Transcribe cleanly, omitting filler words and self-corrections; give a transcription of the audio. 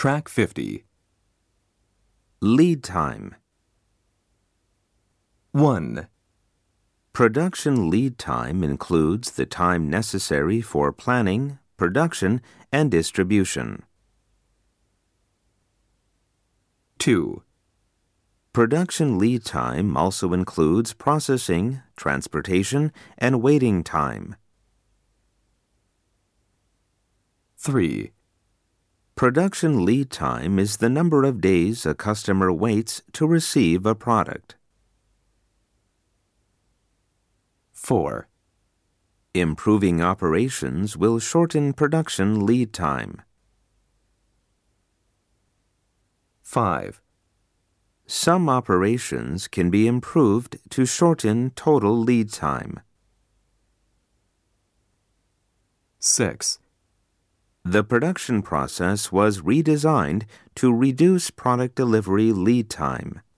Track 50. Lead time. 1, Production lead time includes the time necessary for planning, production, and distribution. 2, Production lead time also includes processing, transportation, and waiting time. 3, Production lead time is the number of days a customer waits to receive a product. 4, Improving operations will shorten production lead time. 5, Some operations can be improved to shorten total lead time. 6, The production process was redesigned to reduce product delivery lead time.